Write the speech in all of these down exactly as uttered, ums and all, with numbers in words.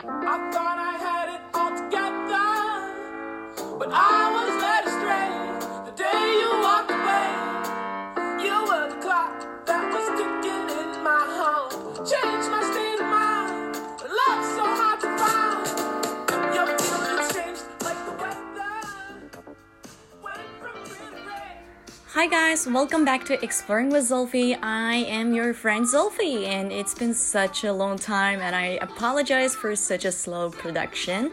I thought I had it all together, but I was led astray the day you walked away. You were the clock that was ticking in my home, changed my state of mind. Love's so hard to find. Your feelings changed like the weather. Went from green to gray. Hi guys, welcome back to Exploring with Zulfi. I am your friend Zulfi, and it's been such a long time, and I apologize for such a slow production.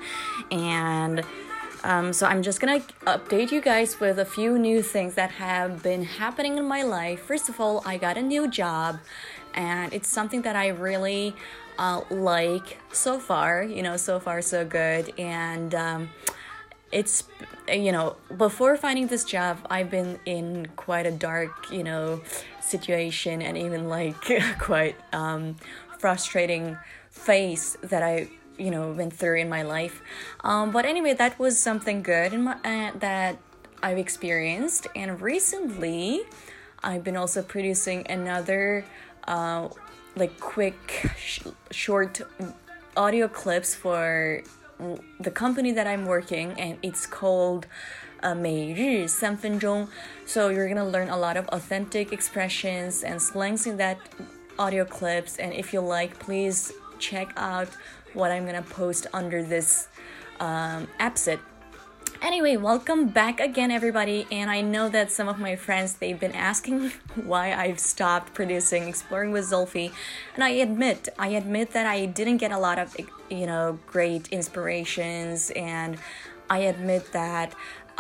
And um, so I'm just gonna update you guys with a few new things that have been happening in my life. First of all, I got a new job, and it's something that I really uh, like so far. You know, so far so good, and um, it's, you know, before finding this job, I've been in quite a dark, you know, situation, and even like quite um, frustrating phase that I, you know, went through in my life. Um, but anyway, that was something good in my, uh, that I've experienced. And recently, I've been also producing another, uh, like quick, sh- short audio clips for the company that I'm working, and it's called uh, 每日三分钟. So you're gonna learn a lot of authentic expressions and slangs in that audio clips, and if you like, please check out what I'm gonna post under this um, episode. Anyway, welcome back again, everybody, and I know that some of my friends, they've been asking why I've stopped producing Exploring with Zulfi, and I admit, I admit that I didn't get a lot of, you know, great inspirations, and I admit that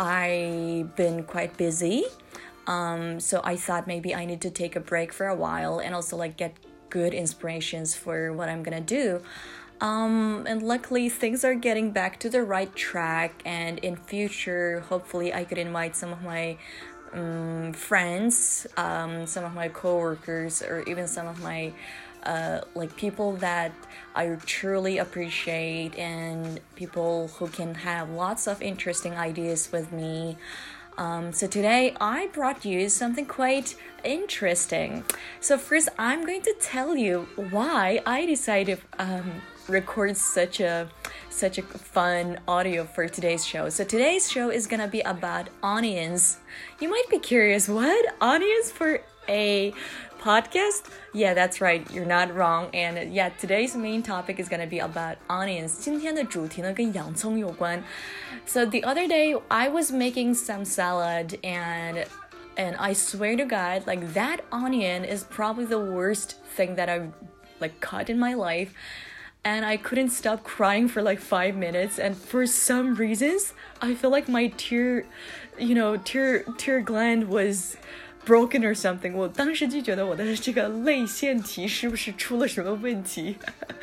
I've been quite busy, um, so I thought maybe I need to take a break for a while, and also, like, get good inspirations for what I'm gonna do. Um, and luckily things are getting back to the right track, and in future, hopefully I could invite some of my um, friends, um, some of my coworkers, or even some of my uh, like people that I truly appreciate, and people who can have lots of interesting ideas with me. Um, so today I brought you something quite interesting. So first, I'm going to tell you why I decided um, record such a such a fun audio for today's show. So today's show is gonna be about onions. You might be curious, what? Onions for a podcast? Yeah, that's right. You're not wrong. And yeah, today's main topic is gonna be about onions. 今天的主题呢跟洋葱有关。So the other day I was making some salad, and and I swear to God, like that onion is probably the worst thing that I've like cut in my life. And I couldn't stop crying for like five minutes. And for some reasons, I feel like my tear, you know, tear tear gland was broken or something. 我当时就觉得我的这个泪腺体是不是出了什么问题?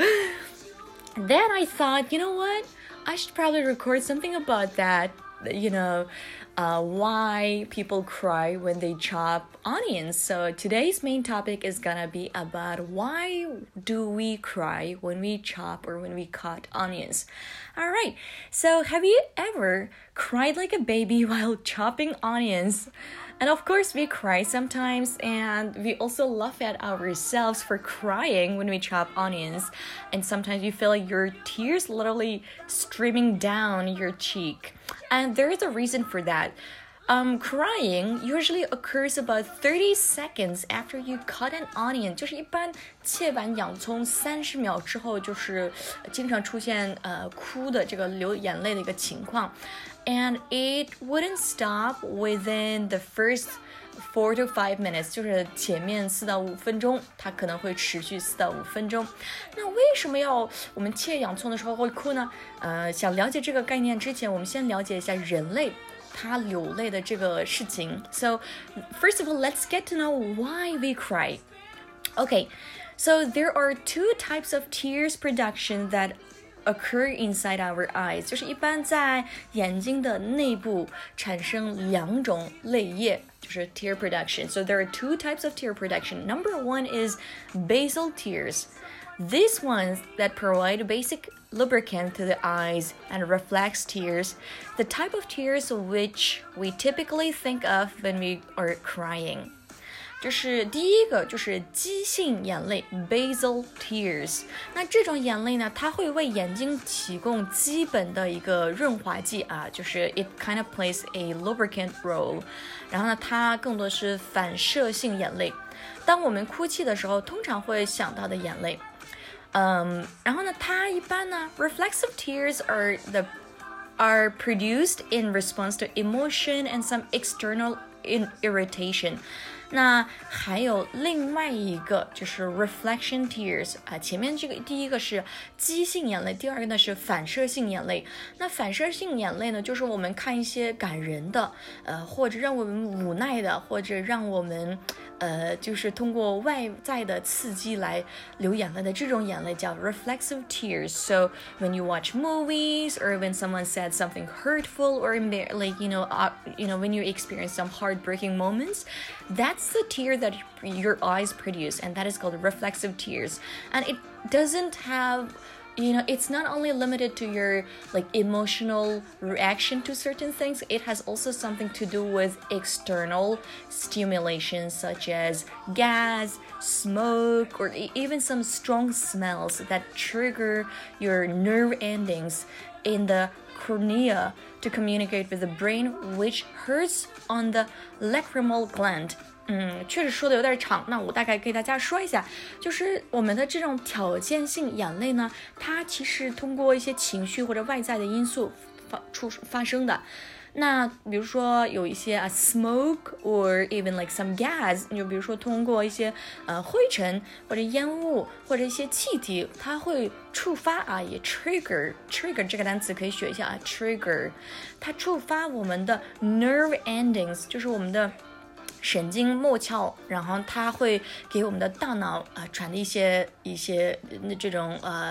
Then I thought, you know what? I should probably record something about that. You know, uh, why people cry when they chop onions. So today's main topic is gonna be about why do we cry when we chop or when we cut onions. All right, so have you ever cried like a baby while chopping onions? And of course, we cry sometimes, and we also laugh at ourselves for crying when we chop onions. And sometimes you feel like your tears literally streaming down your cheek. And there is a reason for that. Um, crying usually occurs about thirty seconds after you cut an onion. 就是一般切完洋葱三十秒之后，就是经常出现呃哭的这个流眼泪的一个情况。And it wouldn't stop within the first four to five minutes. 就是前面四到五分钟，它可能会持续四到五分钟。那为什么要我们切洋葱的时候会哭呢？呃，想了解这个概念之前，我们先了解一下人类。他流泪的这个事情。So, first of all, let's get to know why we cry. Okay, so there are two types of tears production that occur inside our eyes. 就是一般在眼睛的内部产生两种泪液，就是 tear production. So there are two types of tear production. Number one is basal tears.These ones that provide basic lubricant to the eyes and reflex tears, the type of tears which we typically think of when we are crying. 就是第一个就是激性眼泪 basal tears。 那这种眼泪呢，它会为眼睛提供基本的一个润滑剂啊，就是 it kind of plays a lubricant role。 然后呢，它更多是反射性眼泪，当我们哭泣的时候通常会想到的眼泪。嗯，然后呢，它一般呢 reflexive tears are the are produced in response to emotion and some external irritation。 那还有另外一个就是 reflection tears 啊，前面这个第一个是激性眼泪，第二个呢是反射性眼泪。那反射性眼泪呢，就是我们看一些感人的，呃，或者让我们无奈的，或者让我们呃，就是通过外在的刺激来流眼泪的这种眼泪叫 reflexive tears. So when you watch movies or when someone said something hurtful or like you know uh, you know when you experience some heartbreaking moments, that's the tear that your eyes produce, and that is called reflexive tears. And it doesn't have you know it's not only limited to your like emotional reaction to certain things, it has also something to do with external stimulation such as gas, smoke, or even some strong smells that trigger your nerve endings in the cornea to communicate with the brain, which hurts on the lacrimal gland. 嗯，确实说的有点长，那我大概给大家说一下，就是我们的这种条件性眼泪呢，它其实通过一些情绪或者外在的因素发出发生的。那比如说有一些啊 smoke or even like some gas， 你就比如说通过一些呃灰尘或者烟雾或者一些气体，它会触发啊，也 trigger trigger 这个单词可以学一下啊 trigger， 它触发我们的 nerve endings， 就是我们的神经末梢，然后它会给我们的大脑啊、呃、传递一些一些这种呃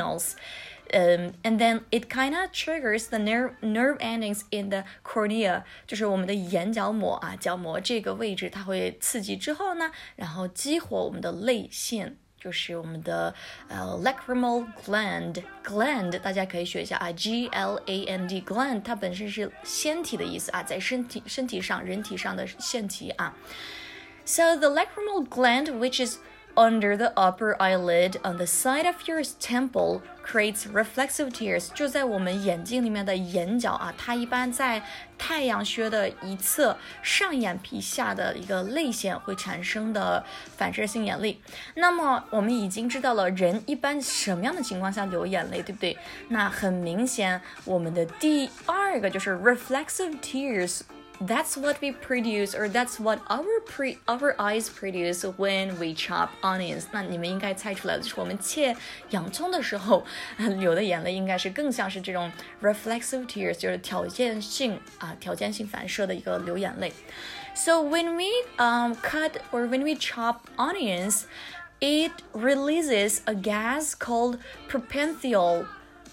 signals。Um, and then it kind of triggers the nerve nerve endings in the cornea， 就是我们的眼角膜啊，角膜这个位置，它会刺激之后呢，然后激活我们的泪腺，就是我们的呃 lacrimal gland gland， 大家可以学一下啊 G L A N D gland， 它本身是腺体的意思啊，在身体身体上人体上的腺体啊。So the lacrimal gland, which is under the upper eyelid on the side of your temple, creates reflexive tears. 就在我们眼睛里面的眼角啊，它一般在太阳穴的一侧上眼皮下的一个泪腺会产生的反射性眼泪。那么我们已经知道了人一般什么样的情况下流眼泪，对不对？那很明显，我们的第二个就是 reflexive tears。That's what we produce, or that's what our pre our eyes produce when we chop onions. 那你们应该猜出来的就是我们切洋葱的时候流的眼泪，应该是更像是这种 reflexive tears， 就是条件性啊，条件性反射的一个流眼泪。So when we um cut or when we chop onions, it releases a gas called propantheol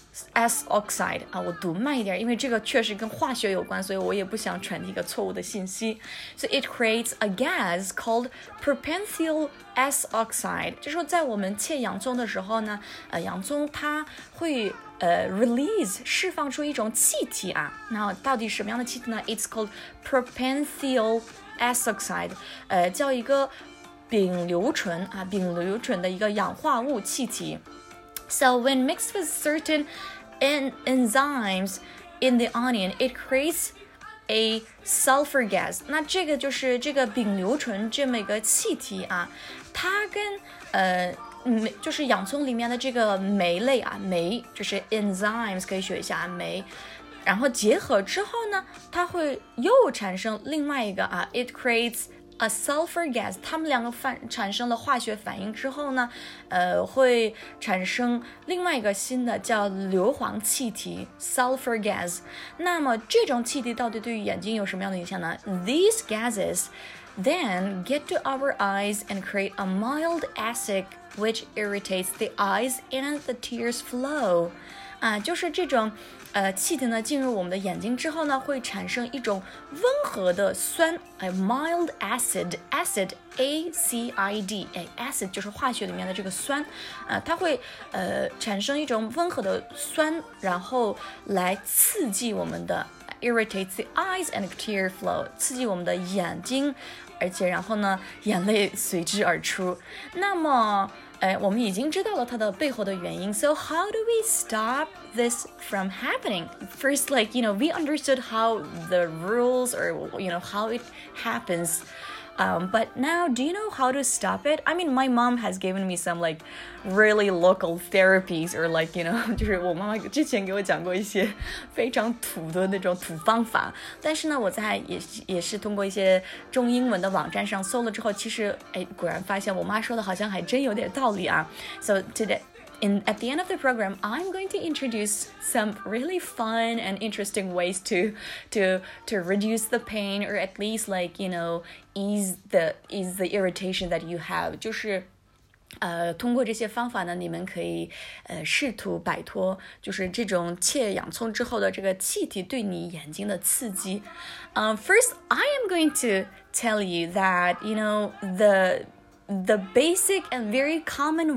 S oxide 啊，我读慢一点，因为这个确实跟化学有关，所以我也不想传递一个错误的信息。So it creates a gas called propantheol S oxide， 就是说在我们切洋葱的时候呢，呃，洋葱它会呃 release 释放出一种气体啊，那到底什么样的气体呢 ？It's called propantheol S oxide， 呃，叫一个丙硫醇啊，丙硫醇的一个氧化物气体。So when mixed with certain en- enzymes in the onion, it creates a sulfur gas. 那这个就是这个丙硫醇这么一个气体啊，它跟呃酶就是洋葱里面的这个酶类啊，酶就是 enzymes 可以学一下酶。然后结合之后呢，它会又产生另外一个啊 ，it creates a sulfur gas， 它们两个反产生了化学反应之后呢，呃，会产生另外一个新的叫硫磺气体 sulfur gas。那么这种气体到底对于眼睛有什么样的影响呢 ？These gases then get to our eyes and create a mild acid which irritates the eyes and the tears flow。啊，就是这种呃气体呢进入我们的眼睛之后呢，会产生一种温和的酸，哎 ，mild acid acid A C I D， 哎 ，acid 就是化学里面的这个酸，啊、呃，它会呃产生一种温和的酸，然后来刺激我们的 irritates the eyes and tear flow， 刺激我们的眼睛。 而且然后呢，眼泪随之而出。那么，哎，我们已经知道了它的背后的原因。So how do we stop this from happening? First, like, you know, we understood how the rules or, you know, how it happens. Um, but now, do you know how to stop it? I mean, my mom has given me some like really local therapies or like, you know, 就是我妈妈之前给我讲过一些非常土的那种土方法。但是呢，我在也也是通过一些中英文的网站上搜了之后，其实哎，果然发现我妈说的好像还真有点道理啊。So today.In, at the end of the program, I'm going to introduce some really fun and interesting ways to to to reduce the pain or at least like, you know, ease the ease the irritation that you have. 就是呃，通过这些方法呢，你们可以呃试图摆脱就是这种切洋葱之后的这个气体对你眼睛的刺激。Um, first, I am going to tell you that, you know, the the basic and very common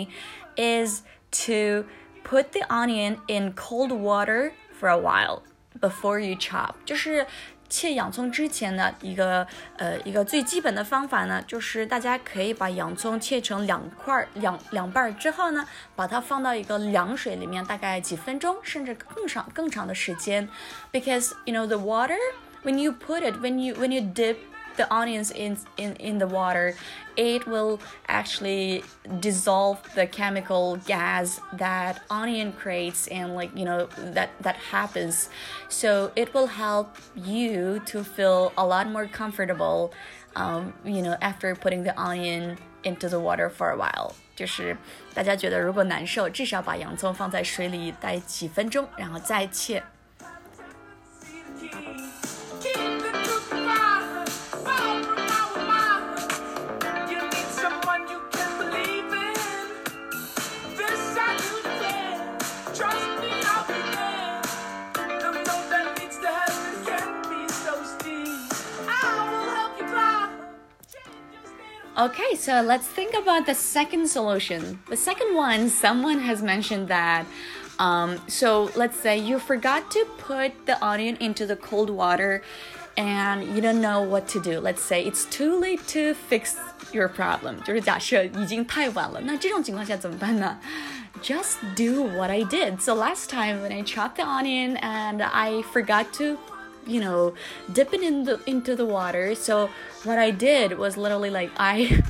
way.is to put the onion in cold water for a while before you chop. 就是切洋葱之前的一个呃一个最基本的方法呢，就是大家可以把洋葱切成两块两两半之后呢，把它放到一个凉水里面，大概几分钟，甚至更长更长的时间。Because you know the water, when you put it, when you when you dip.the onions in, in, in the water, it will actually dissolve the chemical gas that onion creates and like, you know, that, that happens. So it will help you to feel a lot more comfortable, um, you know, after putting the onion into the water for a while. 就是大家觉得如果难受，至少把洋葱放在水里待几分钟，然后再切。Okay, so let's think about the second solution. The second one, someone has mentioned that, um, so let's say you forgot to put the onion into the cold water and you don't know what to do. Let's say it's too late to fix your problem. 就是假设已经太晚了，那这种情况下怎么办呢？ Just do what I did. So last time when I chopped the onion and I forgot to you know, dip it in the, into the water. So what I did was literally like I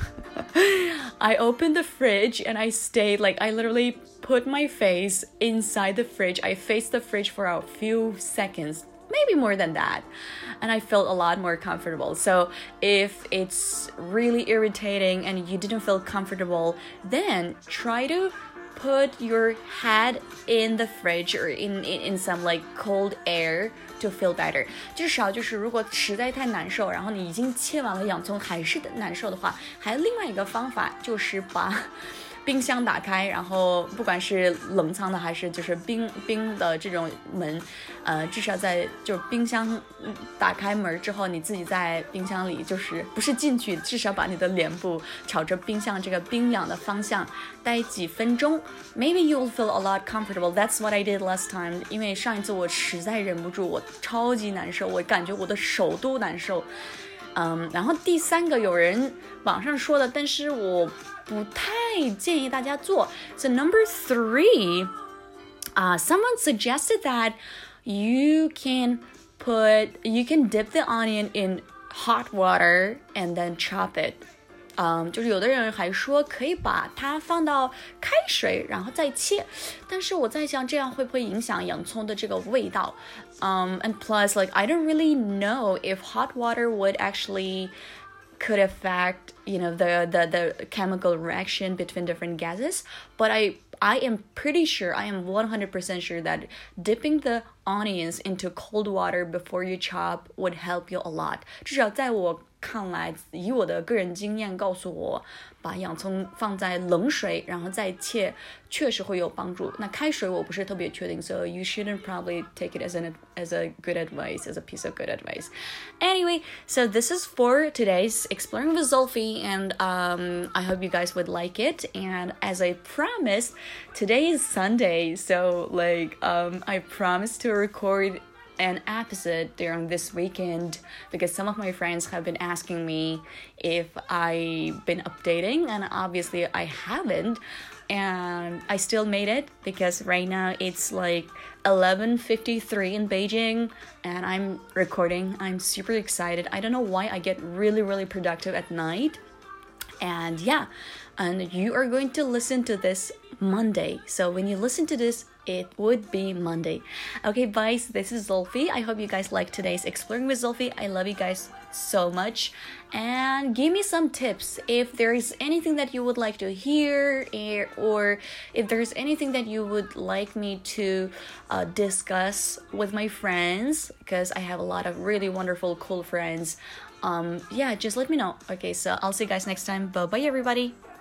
I opened the fridge and I stayed like I literally put my face inside the fridge. I faced the fridge for a few seconds, maybe more than that. And I felt a lot more comfortable. So if it's really irritating and you didn't feel comfortable, then try to put your head in the fridge or in, in, in some like cold air to feel better. 至少就是如果实在太难受，然后你已经切完了洋葱还是难受的话，还有另外一个方法就是把冰箱打开，然后不管是冷藏的还是就是冰冰的这种门，呃，至少在就冰箱打开门之后，你自己在冰箱里就是不是进去，至少把你的脸部朝着冰箱这个冰凉的方向待几分钟。Maybe you will feel a lot comfortable. That's what I did last time. 因为上一次我实在忍不住，我超级难受，我感觉我的手都难受。嗯，然后第三个有人网上说的，但是我不太建议大家做。So number three, uh, someone suggested that you can put, you can dip the onion in hot water and then chop it. 嗯，就是有的人还说可以把它放到开水，然后再切，但是我在想这样会不会影响洋葱的这个味道？Um, and plus, like, I don't really know if hot water would actually could affect, you know, the, the, the chemical reaction between different gases. But I, I am pretty sure, I am one hundred percent sure that dipping the onions into cold water before you chop would help you a lot. 至少在我看来，以我的个人经验告诉我，把洋葱放在冷水然后再切确实会有帮助。那开水我不是特别确定 so you shouldn't probably take it as an as a good advice, as a piece of good advice. Anyway, so this is for today's Exploring with Zolfi, and um, I hope you guys would like it. And as I promised, today is Sunday, so like um, I promised to record an episode during this weekend because some of my friends have been asking me if I've been updating, and obviously I haven't. And I still made it because right now it's like eleven fifty-three in Beijing and I'm recording. I'm super excited. I don't know why I get really, really productive at night. And yeah, and you are going to listen to this Monday. So when you listen to this, it would be Monday. Okay, guys, this is Zulfi. I hope you guys liked today's Exploring with Zulfi. I love you guys so much. And give me some tips if there's anything that you would like to hear, or if there's anything that you would like me to uh, discuss with my friends, because I have a lot of really wonderful, cool friends. Um, yeah, just let me know. Okay, so I'll see you guys next time. Bye-bye, everybody.